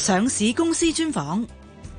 上市公司專訪。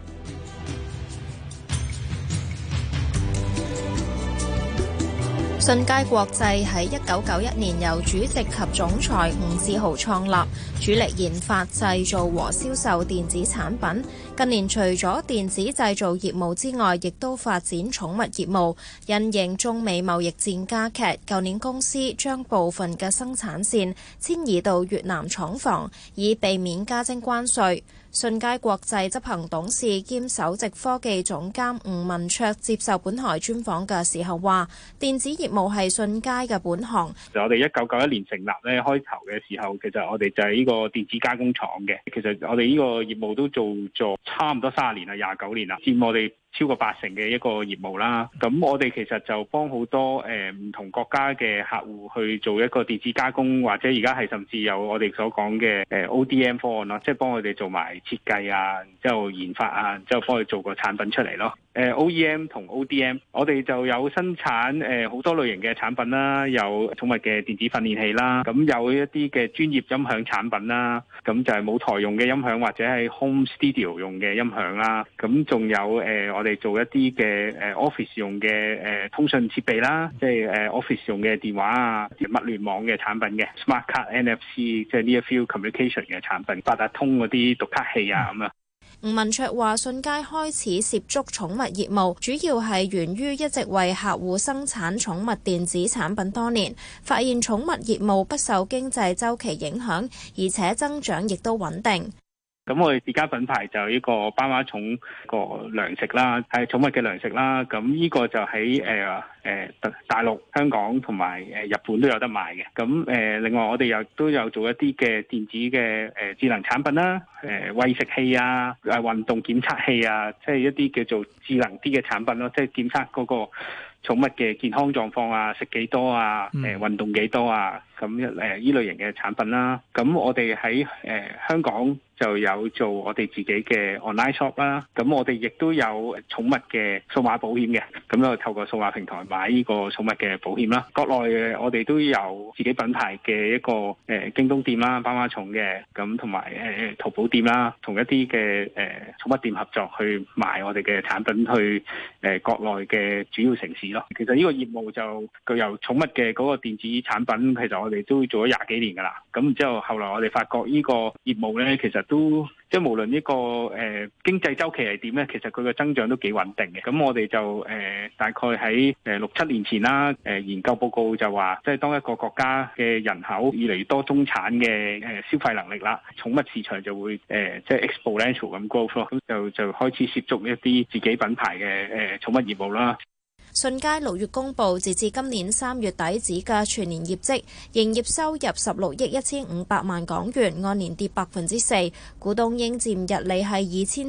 信佳國際喺1991年由主席及總裁吳志豪創立，主力研發、製造和銷售電子產品。近年除咗電子製造業務之外，亦都發展寵物業務。因應中美貿易戰加劇，舊年公司將部分嘅生產線遷移到越南廠房，以避免加徵關稅。信佳國際執行董事兼首席科技總監吳文卓接受本台專訪嘅時候話，電子業務係信佳嘅本行。 我哋1991年成立咧，開頭嘅時候，其實我哋就係呢個電子加工廠嘅。其實我哋呢個業務都做咗差唔多30年啦，29年啦，佔我哋超過80%嘅一個業務啦。咁我哋其實就幫好多唔同國家嘅客戶去做一個電子加工，或者而家係甚至有我哋所講嘅ODM 方案咯，即係幫佢哋做埋設計啊，之後研發啊，之後幫佢做個產品出嚟咯。OEM 同 ODM， 我哋就有生產好多類型嘅產品啦，有寵物嘅電子訓練器啦，咁有一啲嘅專業音響產品啦，咁就係舞台用嘅音響或者係 home studio 用嘅音響啦，咁仲有我哋做一啲嘅office 用嘅通訊設備啦，即係office 用嘅電話啊、物聯網嘅產品嘅 smart card NFC， 即係 near field communication 嘅產品，八達通嗰啲讀卡器啊咁啊。 吳文卓話：信佳開始涉足寵物業務，主要係源於一直為客戶生產寵物電子產品多年，發現寵物業務不受經濟週期影響，而且增長亦都穩定。 咁我哋自家品牌就呢個斑馬寵個糧食啦，係寵物嘅糧食啦。咁呢個就喺大陸、香港同埋日本都有得賣嘅。咁另外我哋又都有做一啲嘅電子嘅智能產品啦，餵食器啊、運動檢測器啊，即係一啲叫做智能啲嘅產品咯，即係檢測嗰個寵物嘅健康狀況啊，食幾多啊，運動幾多啊，咁依類型嘅產品啦。咁我哋喺香港就有做我哋自己嘅 online shop 啦。咁我哋亦都有寵物嘅數碼保險嘅，咁就透過數碼平台買呢個寵物嘅保險啦。國內我哋都有自己品牌嘅一個京東店啦，斑馬寵嘅，咁同埋淘寶店啦，同一啲嘅寵物店合作去賣我哋嘅產品去國內嘅主要城市咯。其實呢個業務就具有寵物嘅嗰個電子產品，其實我哋都做咗20幾年噶啦。咁之後後來我哋發覺呢個業務咧，其實都即係無論呢個經濟週期係點咧，其實佢嘅增長都幾穩定嘅。咁我哋就大概喺6-7年前啦，研究報告就話，即係當一個國家嘅人口越嚟越多中產嘅消費能力啦，寵物市場就會即係 exponential 咁 growth 咯。咁就開始涉足一啲自己品牌嘅寵物業務啦。 信佳6月公佈，截至今年3月底止嘅全年業績，營業收入16億1500萬港元，按年跌4%；股東應佔溢利係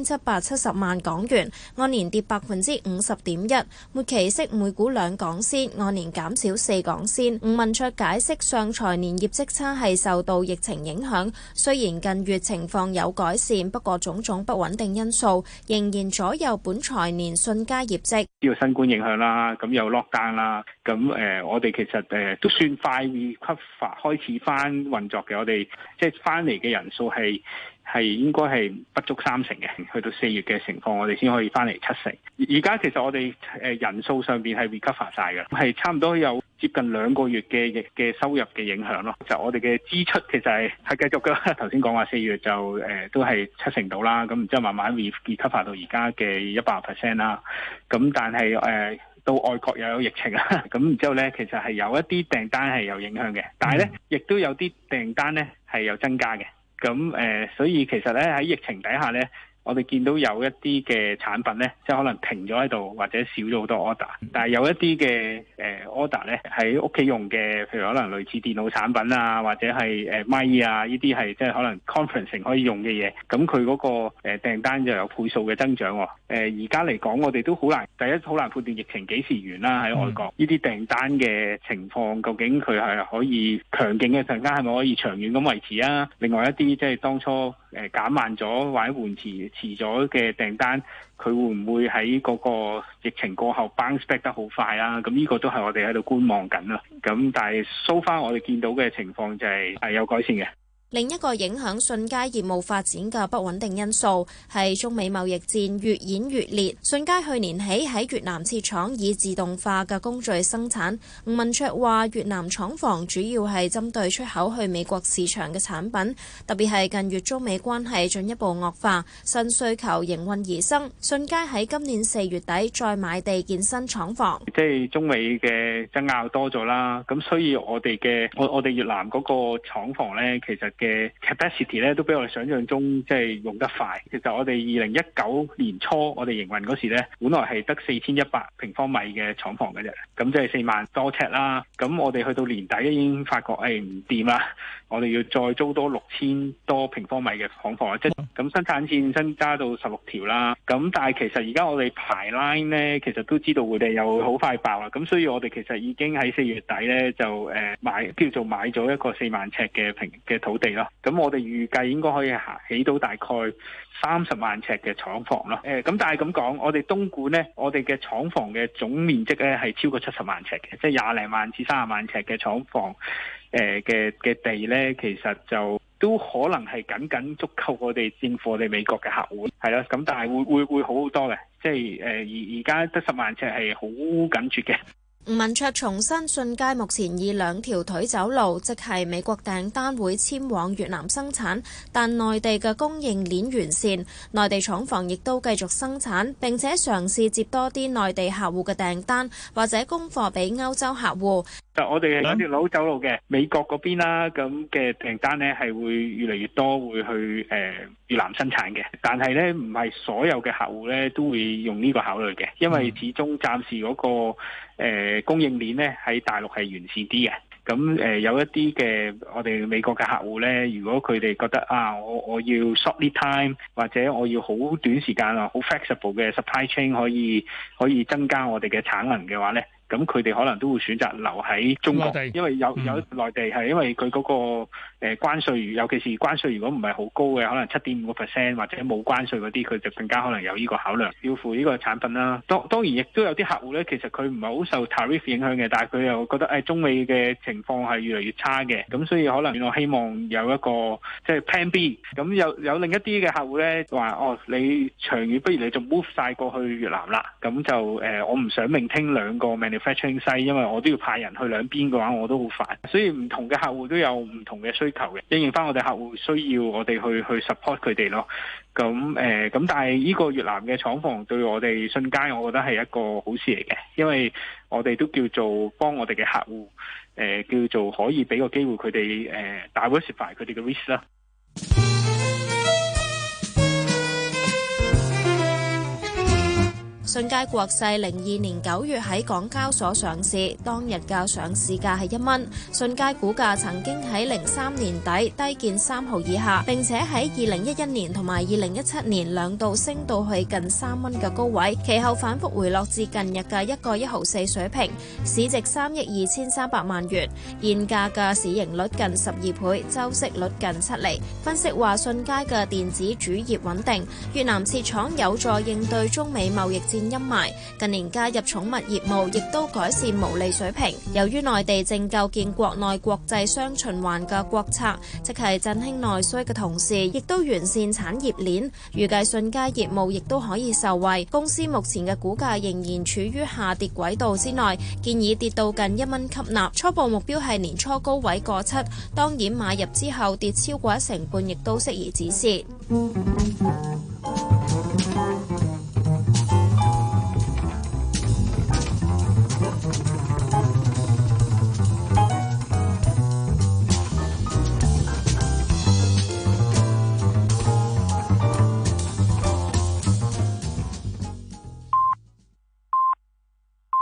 2770萬港元，按年跌50.1%；末期息每股2港仙，按年減少4港仙。吳文卓解釋，上財年業績差係受到疫情影響，雖然近月情況有改善，不過種種不穩定因素仍然左右本財年信佳業績。 呢個新冠影響啦。咁有 lockdown 啦，咁我哋其實都算快 recover 開始翻運作嘅。我哋即係翻嚟嘅人數係應該係不足30嘅，去到4月嘅情況，我哋先可以翻嚟70%。而家其實我哋人數上邊係 recover 晒嘅，係差唔多有接近2個月嘅收入嘅影響咯。就我哋嘅支出其實係繼續嘅。頭先講話4月就都係70%到啦，咁然之後慢慢 recover 到而家嘅100% 啦。咁但係到外國又有疫情啦，咁然之後咧，其實係有一啲訂單係有影響嘅，但係咧亦都有啲訂單咧係有增加嘅。咁所以其實咧喺疫情底下咧，我哋見到有一啲嘅產品咧，即係可能停咗喺度，或者少咗好多 order。但係有一啲嘅order 咧喺屋企用嘅，譬如可能類似電腦產品啊，或者係咪啊，呢啲係即係可能 conferencing 可以用嘅嘢。咁佢嗰個訂單就有倍數嘅增長。而家嚟講，我哋都好難，第一好難判斷疫情幾時完啦。喺外國呢啲訂單嘅情況，究竟佢係可以強勁嘅訂單係咪可以長遠咁維持啊？另外一啲即係當初減慢咗或者緩遲咗嘅訂單，佢會唔會喺嗰個疫情過後 bounce back 得好快啊？咁呢個都係我哋喺度觀望緊啦。咁但係 so far 我哋見到嘅情況就係有改善嘅。 另一個影響信佳業務發展嘅不穩定因素係中美貿易戰越演越烈。信佳去年起喺越南設廠以自動化嘅工序生產。吳文卓話：越南廠房主要係針對出口去美國市場嘅產品，特別係近月中美關係進一步惡化，新需求應運而生。信佳喺今年4月底再買地建新廠房。 即係中美嘅爭拗多咗啦，咁所以我哋越南嗰個廠房咧，其實嘅 capacity 咧都比我哋想象中即係用得快。其實我哋2019年初我哋營運嗰時咧，本來係得4100平方米嘅廠房嘅啫，咁即係4萬多尺啦。咁我哋去到年底已經發覺唔掂啦，我哋要再租多6000多平方米嘅廠房，即係咁生產線增加到16條啦。咁但係其實而家我哋排 line 咧，其實都知道佢哋又好快爆啦。咁所以我哋其實已經喺4月底咧就叫做買咗一個4萬尺嘅土地咯。咁我哋預計應該可以起到大概30萬尺嘅廠房咯。咁但係咁講，我哋東莞呢，我哋嘅廠房嘅總面積咧係超過70萬尺嘅，即係20零萬至30萬尺嘅廠房嘅地咧，其實就都可能係僅足夠我哋應付我哋美國嘅客戶，係啦。咁但係會好好多嘅，即係而家得10萬尺係好緊絀嘅。 吳文卓重申，信佳目前以2條腿走路，即係美國訂單會遷往越南生產，但內地嘅供應鏈完善，內地廠房亦都繼續生產，並且嘗試接多啲內地客戶嘅訂單，或者供貨俾歐洲客戶。 我哋2條路走路嘅美國嗰邊啦，咁嘅訂單呢係會越嚟越多，會去越南生產嘅。但係呢，唔係所有嘅客戶呢都會用呢個考慮嘅，因為始終暫時嗰個供應鏈呢喺大陸係完善啲嘅。咁有一啲嘅我哋美國嘅客戶呢，如果佢哋覺得我要 short lead time 或者我要好短時間好 flexible 嘅 supply chain 可以增加我哋嘅產能嘅話呢，咁佢哋可能都會選擇留喺中國，因為有內地係因為佢嗰個關稅，尤其是關稅如果唔係好高嘅，可能7.5% 或者冇關稅嗰啲，佢就更加可能有呢個考量，要付呢個產品啦。當然亦都有啲客戶咧，其實佢唔係好受 tariff 影響嘅，但係佢又覺得中美嘅情況係越嚟越差嘅，咁所以可能我希望有一個即係 Plan B。咁有另一啲嘅客戶咧話你長遠不如你就 move 晒過去越南啦，咁就我唔想maintain2個 manufacturing site，因為我都要派人去兩邊嘅話，我都好煩。所以唔同嘅客戶都有唔同嘅需求嘅，應驗翻我哋客戶需要，我哋去 support 佢哋咯。咁但係呢個越南嘅廠房對我哋信佳，我覺得係一個好事嚟嘅，因為我哋都叫做幫我哋嘅客戶，叫做可以俾個機會佢哋diversify佢哋嘅 risk 啦。 信佳國際02年9月喺港交所上市，當日嘅上市價係1蚊。信佳股價曾經喺03年底低見3毫以下，並且喺2011年同埋2017年2度升到去近3蚊嘅高位，其後反覆回落至近日嘅1個1毫4水平，市值3億2300萬元，現價嘅市盈率近12倍，周息率近7厘。分析話信佳嘅電子主業穩定，越南設廠有助應對中美貿易戰陰霾，近年加入寵物業務亦都改善毛利水平。由於內地正構建國內國際雙循環嘅國策，即係振興內需嘅同時，亦都完善產業鏈，預計信佳業務亦都可以受惠。公司目前嘅股價仍然處於下跌軌道之內，建議跌到近1蚊吸納，初步目標係年初高位過7，當然買入之後跌超過1成半亦都適宜止蝕。